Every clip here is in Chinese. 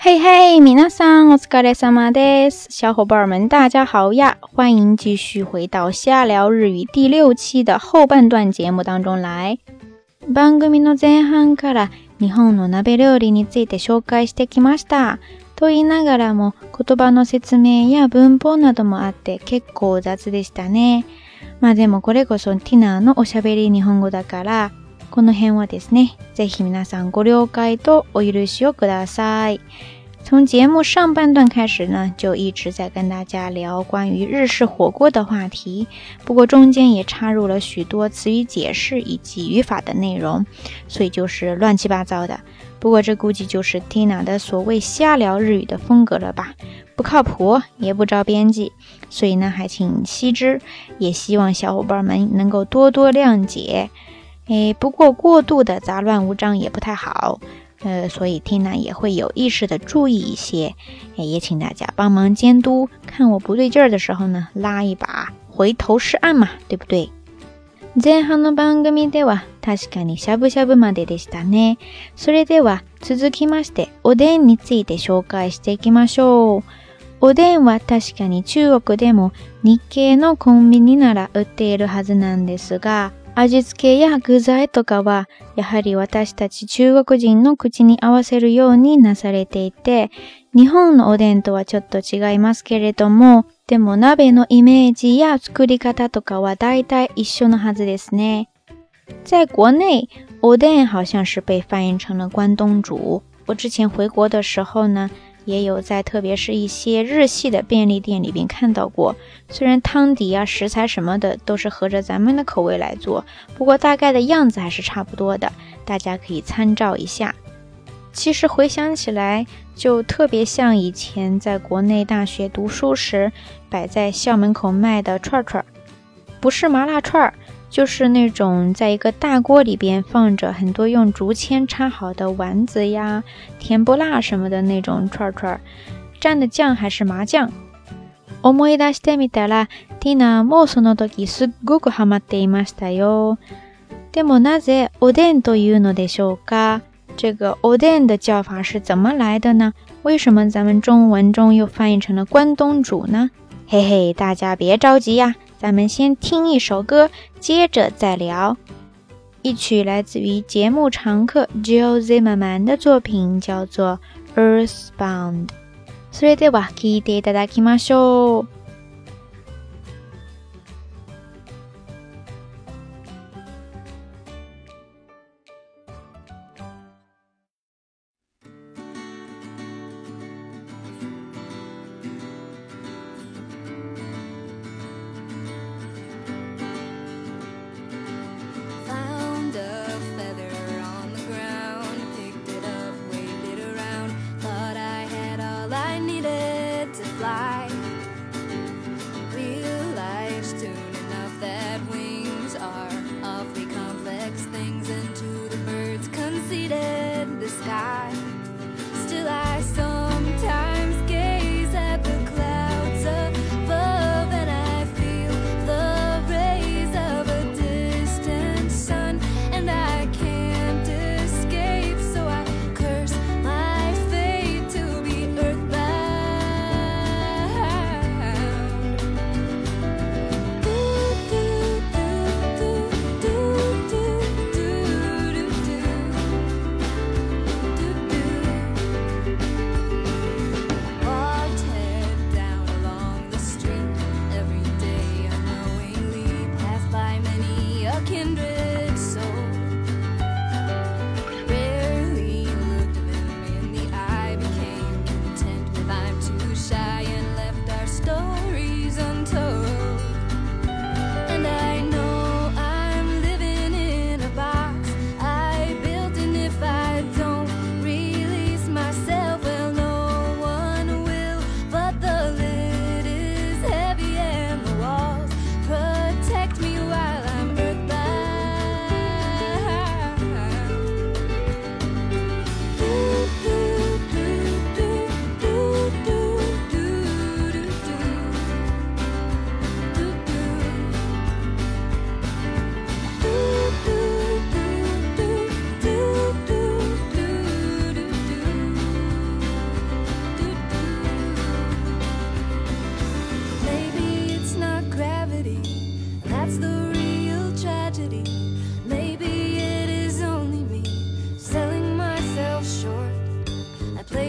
嘿嘿，皆さんお疲れ様です。小伙伴们大家好呀，欢迎继续回到瞎聊日语第6期的后半段节目当中来。番組の前半から日本の鍋料理について紹介してきました。と言いながらも言葉の説明や文法などもあって結構雑でしたね。まあでもこれこそティナのおしゃべり日本語だからこの辺はですね，ぜひ皆さんご了解とお許しをください。从节目上半段开始呢，就一直在跟大家聊关于日式火锅的话题，不过中间也插入了许多词语解释以及语法的内容，所以就是乱七八糟的。不过这估计就是 Tina 的所谓瞎聊日语的风格了吧，不靠谱也不着边际，所以呢还请悉知，也希望小伙伴们能够多多谅解。不过过度的杂乱无章也不太好，所以 Tina 也会有意识的注意一些，也请大家帮忙监督，看我不对劲儿的时候呢，拉一把，回头是岸嘛，对不对？前半の番組では確かにしゃぶしゃぶまででしたね。それでは続きましておでんについて紹介していきましょう。おでんは確かに中国でも日系のコンビニなら売っているはずなんですが、味付けや具材とかはやはり私たち中国人の口に合わせるようになされていて、日本のおでんとはちょっと違いますけれども、でも鍋のイメージや作り方とかは大体一緒のはずですね。在国内，おでん好像是被翻译成了关东煮。我之前回国的时候呢，也有在特别是一些日系的便利店里边看到过，虽然汤底啊食材什么的都是合着咱们的口味来做，不过大概的样子还是差不多的，大家可以参照一下。其实回想起来就特别像以前在国内大学读书时摆在校门口卖的串串，不是麻辣串，就是那种在一个大锅里边放着很多用竹签插好的丸子呀、甜不辣什么的那种串串，蘸的酱还是麻酱。思い出してみたら、ティナもその時すっごくハマっていましたよ。でもなぜおでんというのでしょうか？这个おでん的叫法是怎么来的呢？为什么咱们中文中又翻译成了关东煮呢？嘿嘿，大家别着急呀，咱们先听一首歌，接着再聊。一曲来自于节目常客 Jill Zimmerman 的作品叫做 Earthbound。それでは聴いていただきましょう。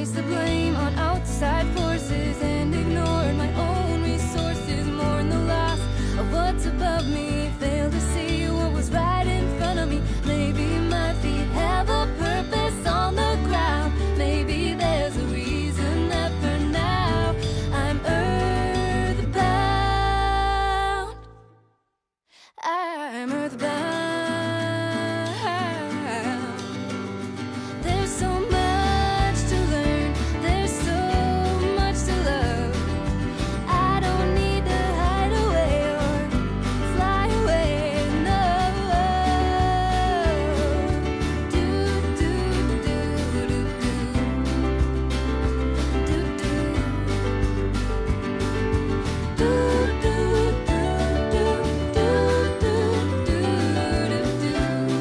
placed the blame on outside forces and ignored my own resources. Mourn the loss of what's above me, failed to see what was right in front of me. Maybe my feet have a purpose on the ground. Maybe there's a reason that for now I'm earthbound. I'm earthbound. There's so much to learn, there's so much to love. I don't need to hide away or fly away, no. Do, do, do, do, do. Do, do. Do, do, do, do, do, do, do, do, do.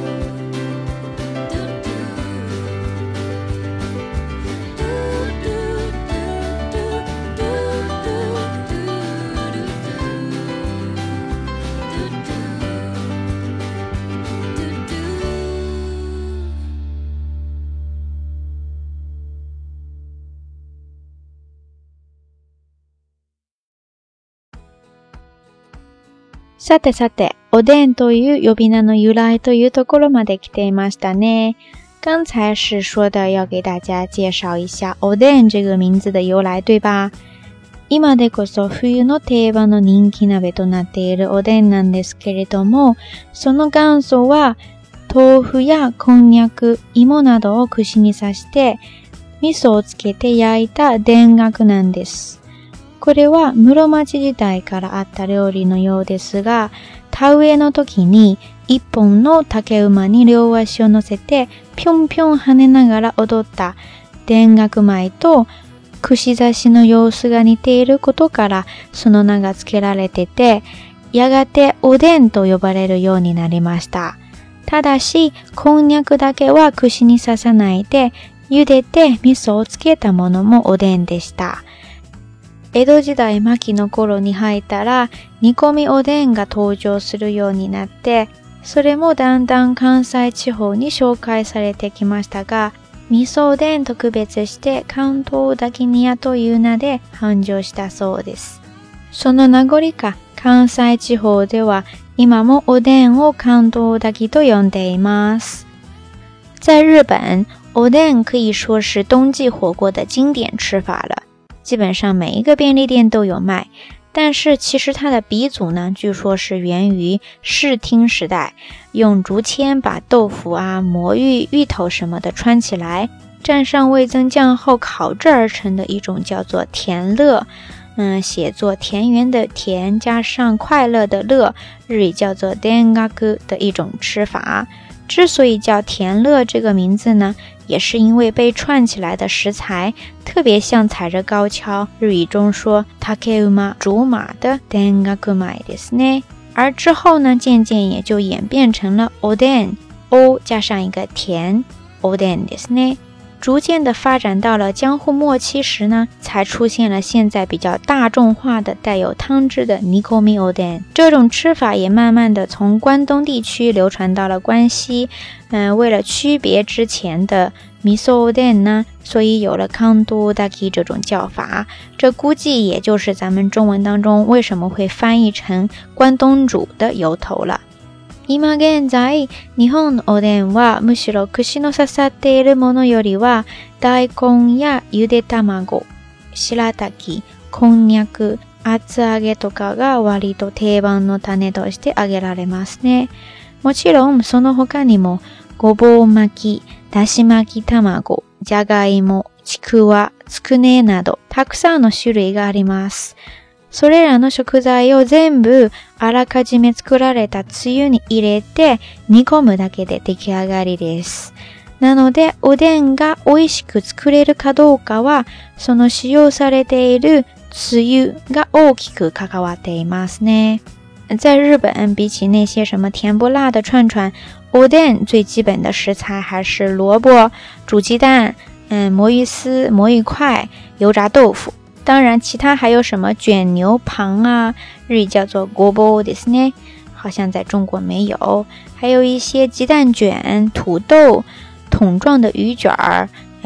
さてさて、おでんという呼び名の由来というところまで来ていましたね。刚才是说的要给大家介绍一下おでん这个名字的由来，对吧？今でこそ冬の定番の人気鍋となっているおでんなんですけれども、その元祖は豆腐やこんにゃく、芋などを串に刺して味噌をつけて焼いた田楽なんです。これは室町時代からあった料理のようですが、田植えの時に一本の竹馬に両足を乗せてぴょんぴょん跳ねながら踊った田楽舞と串刺しの様子が似ていることからその名が付けられてて、やがておでんと呼ばれるようになりました。ただし、こんにゃくだけは串に刺さないで茹でて味噌をつけたものもおでんでした。江戸時代末期の頃に入ったら煮込みおでんが登場するようになって、それもだんだん関西地方に紹介されてきましたが、味噌おでんと区別して関東炊き煮屋という名で繁盛したそうです。その名残か関西地方では今もおでんを関東炊きと呼んでいます。在日本，おでん可以说是冬季火锅的经典吃法了。基本上每一个便利店都有卖，但是其实它的鼻祖呢，据说是源于室町时代，用竹签把豆腐啊、魔芋、芋头什么的穿起来，蘸上味增酱后烤制而成的一种叫做田乐，写作田园的田加上快乐的乐，日语叫做田楽的一种吃法。之所以叫田乐这个名字呢，也是因为被串起来的食材特别像踩着高跷，日语中说竹馬竹马的田楽舞ですね。而之后呢，渐渐也就演变成了おでん，お加上一个田，おでんですね。逐渐的发展到了江户末期时呢，才出现了现在比较大众化的带有汤汁的煮込みおでん。这种吃法也慢慢的从关东地区流传到了关西。为了区别之前的味噌おでん呢，所以有了関東炊き这种叫法。这估计也就是咱们中文当中为什么会翻译成关东煮的由头了。今現在、日本のおでんはむしろ串の刺さっているものよりは大根やゆで卵、白滝、こんにゃく、厚揚げとかが割と定番の種として挙げられますね。もちろんその他にもごぼう巻き、だし巻き卵、じゃがいも、ちくわ、つくねなどたくさんの種類があります。それらの食材を全部あらかじめ作られたつゆに入れて煮込むだけで出来上がりです。なのでおでんが美味しく作れるかどうかはその使用されているつゆが大きく関わっていますね。在日本，比起那些什么甜不辣的串串，おでん最基本的食材还是萝卜、煮鸡蛋、魔芋丝、魔芋块、油炸豆腐。当然其他还有什么卷牛蒡啊，日语叫做ごぼうですね，好像在中国没有。还有一些鸡蛋卷、土豆、桶状的鱼卷儿，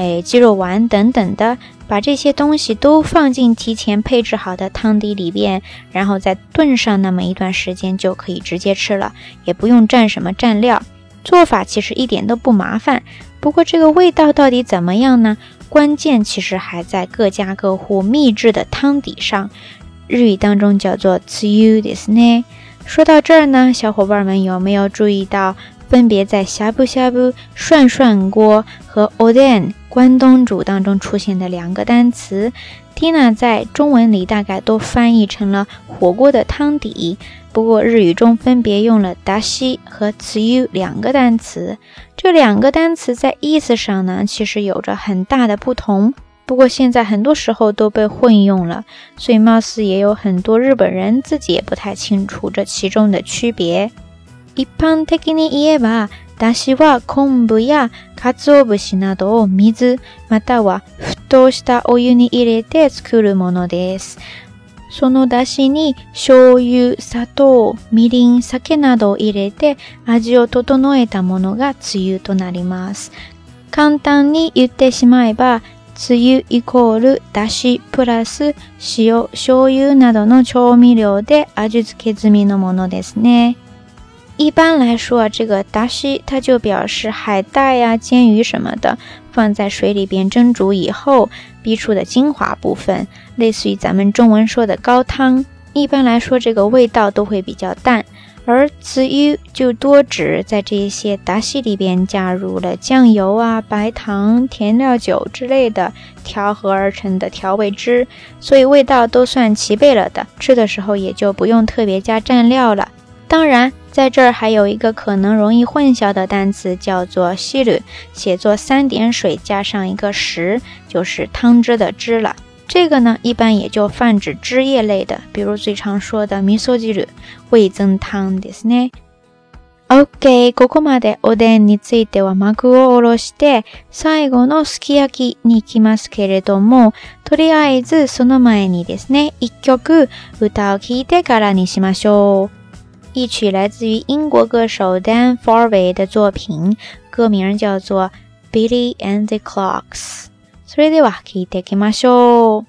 鸡肉丸等等的，把这些东西都放进提前配置好的汤底里边，然后再炖上那么一段时间就可以直接吃了，也不用蘸什么蘸料。做法其实一点都不麻烦，不过这个味道到底怎么样呢？关键其实还在各家各户秘制的汤底上，日语当中叫做つゆですね。说到这儿呢，小伙伴们有没有注意到分别在呷哺呷哺涮涮锅和おでん关东煮当中出现的两个单词？ Tina 在中文里大概都翻译成了火锅的汤底，不过日语中分别用了だし和つゆ两个单词。这两个单词在意思上呢，其实有着很大的不同，不过现在很多时候都被混用了，所以貌似也有很多日本人自己也不太清楚这其中的区别。一般的に言えば、だしは昆布や鰹節などを水または沸騰したお湯に入れて作るものです。そのだしに醤油、砂糖、みりん、酒などを入れて味を整えたものがつゆとなります。簡単に言ってしまえば、つゆイコールだしプラス塩、醤油などの調味料で味付け済みのものですね。一般来说，这个だし它就表示海带呀、煎鱼什么的，放在水里边蒸煮以后逼出的精华部分，类似于咱们中文说的高汤。一般来说，这个味道都会比较淡。而つゆ就多指在这些だし里边加入了酱油啊、白糖、甜料酒之类的调和而成的调味汁，所以味道都算齐备了的，吃的时候也就不用特别加蘸料了。当然在这儿还有一个可能容易混淆的单词叫做汁，写作3点水加上一个食，就是汤汁的汁了。这个呢一般也就泛指汁液类的，比如最常说的味噌汁、味噌汤ですね。OK、ここまでおでんについては幕を下ろして、最後のすき焼きに行きますけれども、とりあえずその前にですね、一曲歌を聴いてからにしましょう。一曲来自于英国歌手 Dan Farway 的作品，歌名叫做 Billy and the Clocks。それでは聴いていきましょう。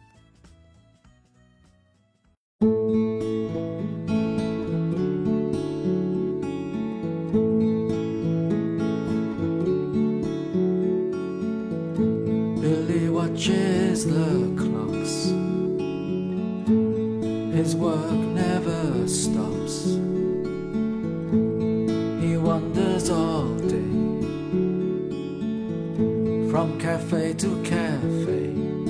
Billy watches the clocks. His work never stops. He wanders all day, from cafe to cafe.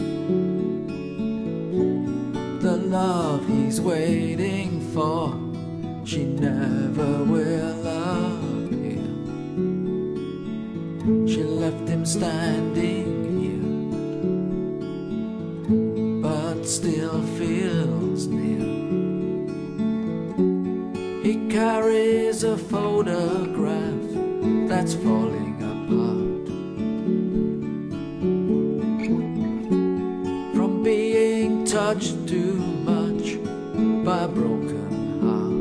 The love he's waiting for, she never will appear. She left him standing here, but still feels near. He carries a photograph that's falling apart, from being touched too much by a broken heart.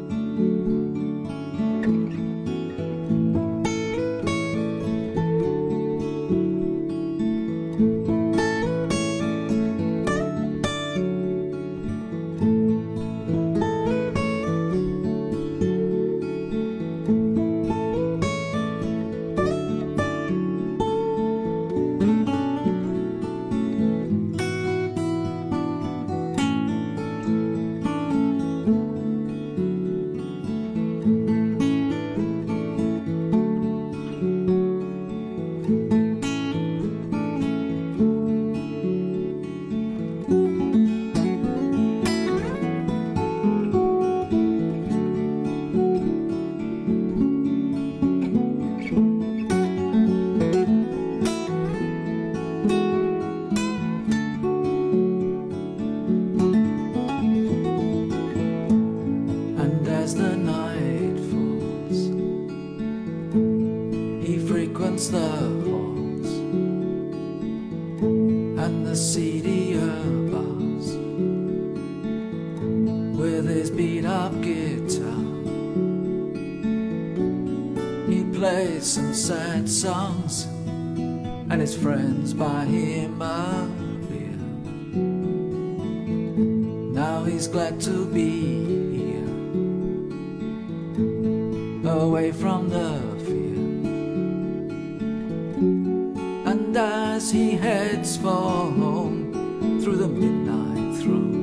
As the night falls, he frequents the halls and the seedier bars with his beat-up guitar. He plays some sad songs and his friends buy him a beer. Now he's glad to be here, away from the fear. And as he heads for home through the midnight throng,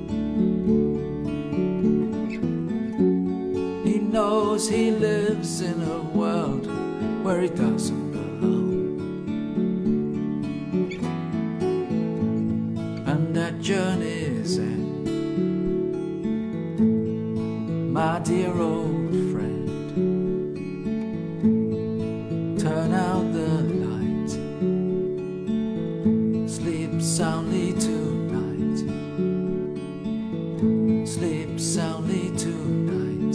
he knows he lives in a world where he doesn't belong. And at journey's end, my dear old friend, turn out the light, sleep soundly tonight, sleep soundly tonight.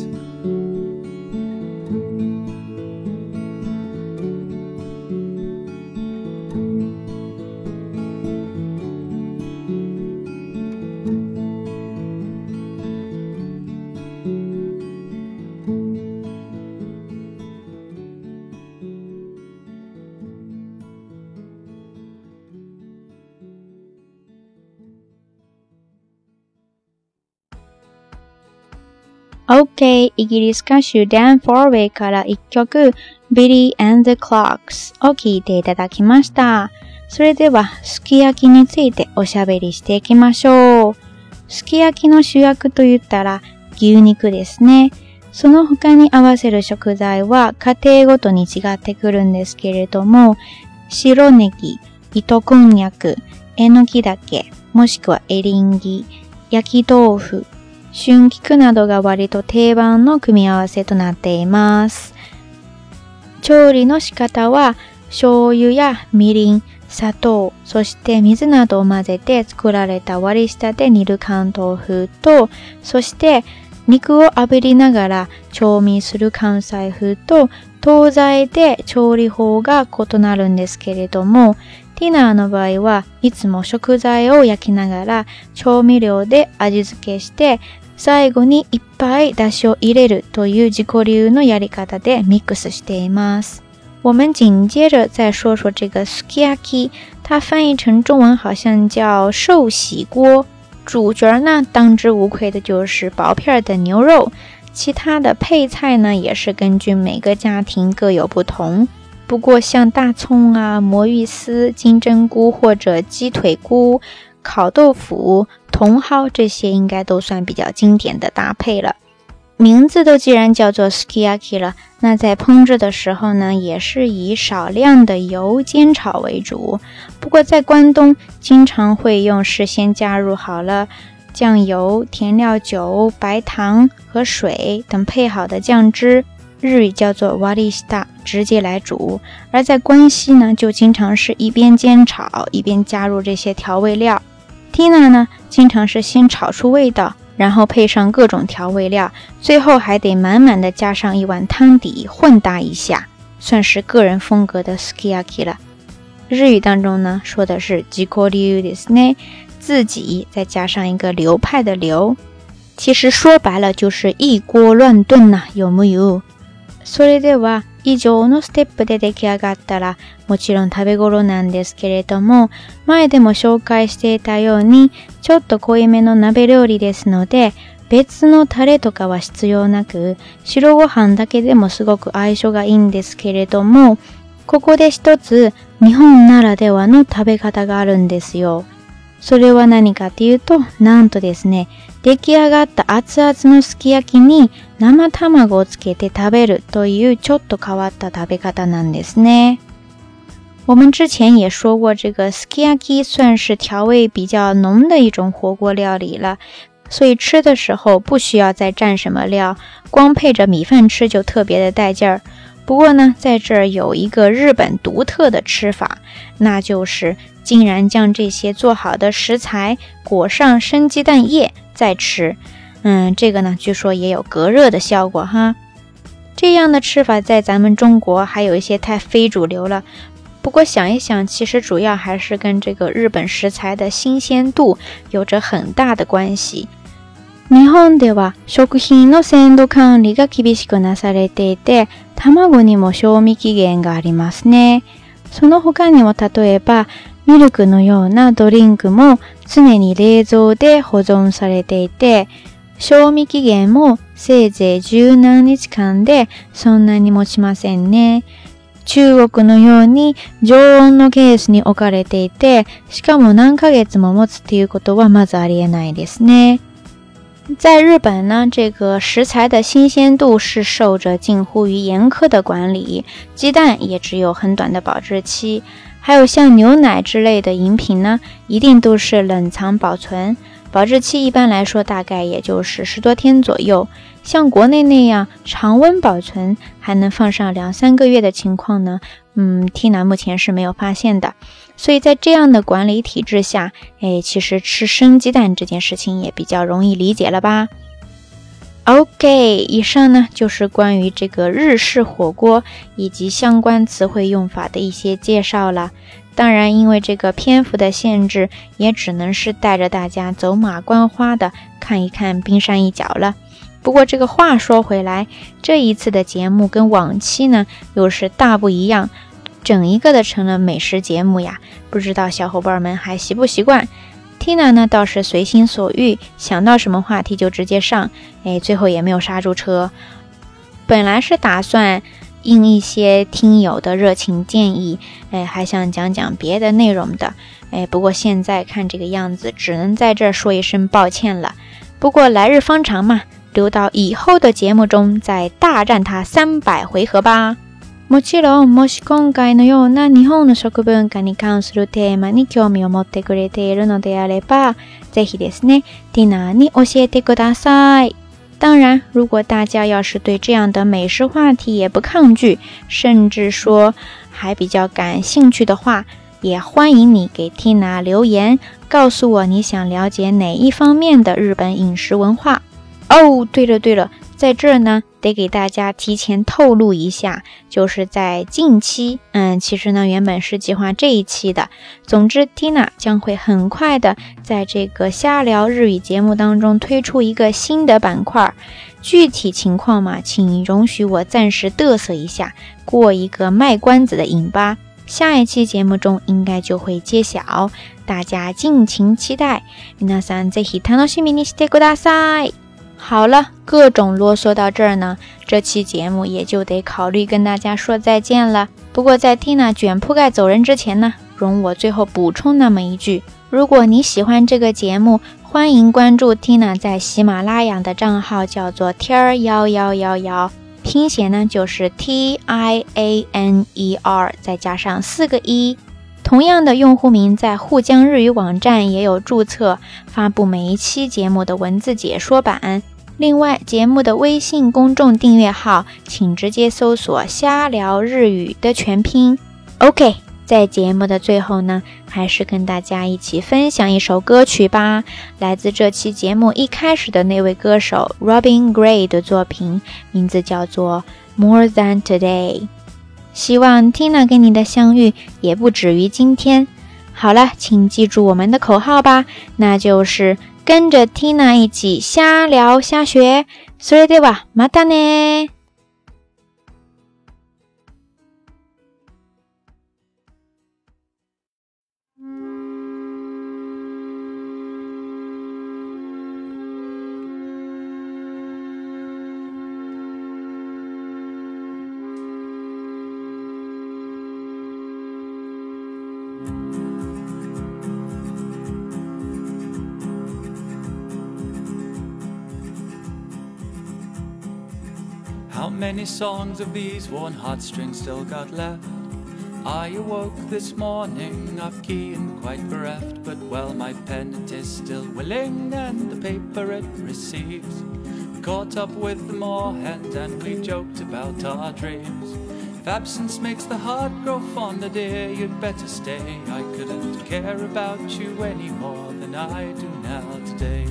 OK、イギリス歌手ダン・フォーウェイから一曲 Billy and the Clocks を聴いていただきました。それではすき焼きについておしゃべりしていきましょう。すき焼きの主役と言ったら牛肉ですね。その他に合わせる食材は家庭ごとに違ってくるんですけれども、白ネギ、糸こんにゃく、えのき茸、もしくはエリンギ、焼き豆腐、春菊などが割と定番の組み合わせとなっています。調理の仕方は醤油やみりん、砂糖、そして水などを混ぜて作られた割り下で煮る関東風と、そして肉を炙りながら調味する関西風と、東西で調理法が異なるんですけれども、ティナーの場合はいつも食材を焼きながら調味料で味付けして、最後にいっぱい出汁を入れるという自己流のやり方でミックスしています。我们紧接着再说说这个 sukiyaki， 它翻译成中文好像叫寿喜锅。主角呢，当之无愧的就是薄片的牛肉，其他的配菜呢也是根据每个家庭各有不同。不过像大葱啊、魔芋丝、金针菇或者鸡腿菇、烤豆腐、茼蒿这些应该都算比较经典的搭配了。名字都既然叫做 sukiyaki 了，那在烹制的时候呢，也是以少量的油煎炒为主。不过在关东经常会用事先加入好了酱油、甜料酒、白糖和水等配好的酱汁，日语叫做 warishita， 直接来煮。而在关西呢，就经常是一边煎炒一边加入这些调味料。Tina 呢，经常是先炒出味道，然后配上各种调味料，最后还得满满的加上一碗汤底混搭一下，算是个人风格的 sukiyaki 了。日语当中呢，说的是自己流ですね，自己再加上一个流派的流，其实说白了就是一锅乱炖呐，有木有？それでは以上のステップで出来上がったらもちろん食べ頃なんですけれども、前でも紹介していたようにちょっと濃いめの鍋料理ですので、別のタレとかは必要なく、白ご飯だけでもすごく相性がいいんですけれども、ここで一つ日本ならではの食べ方があるんですよ。それは何かっていうと、なんとですね、出来上がった熱々のすき焼きに生卵をつけて食べるというちょっと変わった食べ方なんですね。我们之前也说过，这个 sukiyaki 算是调味比较浓的一种火锅料理了，所以吃的时候不需要再蘸什么料，光配着米饭吃就特别的带劲儿。不过呢，在这儿有一个日本独特的吃法，那就是竟然将这些做好的食材裹上生鸡蛋液再吃。这个呢，据说也有隔热的效果哈。这样的吃法在咱们中国还有一些太非主流了。不过想一想，其实主要还是跟这个日本食材的新鲜度有着很大的关系。日本では食品の鮮度管理が厳しくなされていて、卵にも賞味期限がありますね。 その他にも例えばミルクのようなドリンクも常に冷蔵で保存されていて、賞味期限もせいぜい十何日間でそんなに持ちませんね。中国のように常温のケースに置かれていて、しかも何ヶ月も持つっていうことはまずありえないですね。在日本呢，这个食材的新鲜度是受着近乎于严苛的管理，鸡蛋也只有很短的保质期，还有像牛奶之类的饮品呢，一定都是冷藏保存，保质期一般来说大概也就是10多天左右。像国内那样常温保存还能放上2-3个月的情况呢，Tina 目前是没有发现的。所以在这样的管理体制下，其实吃生鸡蛋这件事情也比较容易理解了吧。OK， 以上呢就是关于这个日式火锅以及相关词汇用法的一些介绍了。当然因为这个篇幅的限制，也只能是带着大家走马观花的看一看冰山一角了。不过这个话说回来，这一次的节目跟往期呢又是大不一样，整一个的成了美食节目呀，不知道小伙伴们还习不习惯。 Tina 呢倒是随心所欲，想到什么话题就直接上，最后也没有刹住车。本来是打算应一些听友的热情建议，还想讲讲别的内容的，不过现在看这个样子，只能在这儿说一声抱歉了。不过来日方长嘛，留到以后的节目中再大战它300回合吧。もちろん、もし今回のような日本の食文化に関するテーマに興味を持ってくれているのであれば、ぜひですね、Tina に教えてください。当然，如果大家要是对这样的美食话题也不抗拒，甚至说还比较感兴趣的话，也欢迎你给 Tina 留言，告诉我你想了解哪一方面的日本饮食文化。哦，对了，在这儿呢，得给大家提前透露一下，就是在近期，其实呢原本是计划这一期的。总之 Tina 将会很快的在这个瞎聊日语节目当中推出一个新的板块，具体情况嘛，请容许我暂时嘚瑟一下，过一个卖关子的瘾吧。下一期节目中应该就会揭晓，大家敬请期待。皆さんぜひ楽しみにしてください。好了，各种啰嗦到这儿呢，这期节目也就得考虑跟大家说再见了。不过在 Tina 卷铺盖走人之前呢，容我最后补充那么一句，如果你喜欢这个节目，欢迎关注 Tina 在喜马拉雅的账号，叫做天1111，拼写呢就是 TIANER 再加上4个1。同样的用户名在沪江日语网站也有注册，发布每一期节目的文字解说版。另外，节目的微信公众订阅号，请直接搜索瞎聊日语的全拼。OK， 在节目的最后呢，还是跟大家一起分享一首歌曲吧，来自这期节目一开始的那位歌手 Robin Gray 的作品，名字叫做 More Than Today。希望 Tina 跟你的相遇也不止于今天。好了，请记住我们的口号吧，那就是跟着 Tina 一起瞎聊瞎学。それではまたね。 How many songs of these worn heartstrings still got left? I awoke this morning off-key and quite bereft, but well, my pen it is still willing, and the paper it receives. We caught up with the moorhen and we joked about our dreams. If absence makes the heart grow fonder, dear, you'd better stay. I couldn't care about you any more than I do now today.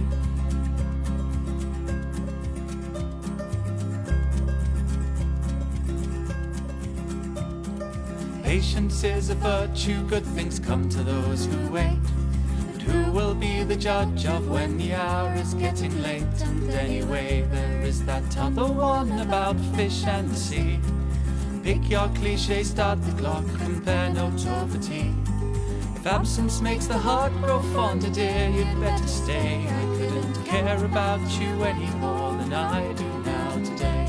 Patience is a virtue, good things come to those who wait. But who will be the judge of when the hour is getting late? And anyway, there is that other one about fish and the sea. Pick your cliche, start the clock, compare notes over tea. If absence makes the heart grow fonder, dear, you'd better stay. I couldn't care about you any more than I do now today.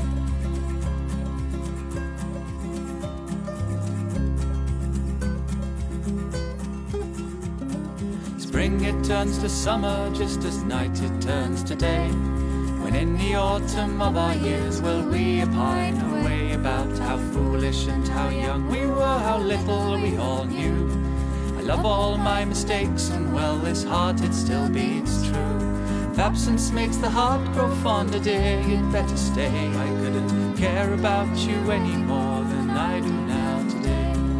Spring it turns to summer just as night it turns to day. When in the autumn of our years will we pine away about how foolish and how young we were, how little we all knew. I love all my mistakes and well this heart it still beats true. If absence makes the heart grow fonder, dear, you'd better stay. I couldn't care about you any more than I do now today.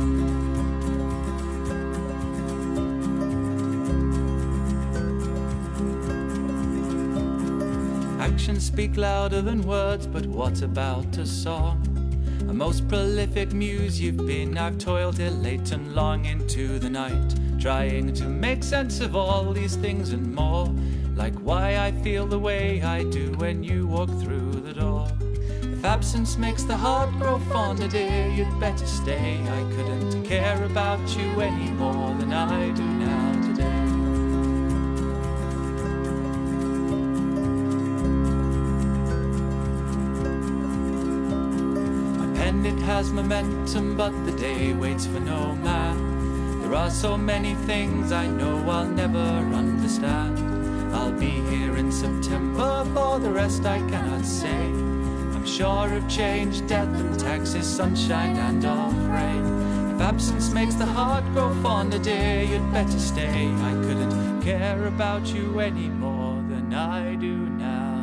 Actions speak louder than words, but what about a song? A most prolific muse you've been. I've toiled here late and long into the night, trying to make sense of all these things and more, like why I feel the way I do when you walk through the door. If absence makes the heart grow fonder, dear, you'd better stay. I couldn't care about you any more than I do now today. It has momentum, but the day waits for no man. There are so many things I know I'll never understand. I'll be here in September, for the rest I cannot say. I'm sure of change, death and taxes, sunshine and off rain. If absence makes the heart grow fonder, dear, you'd better stay. I couldn't care about you any more than I do now.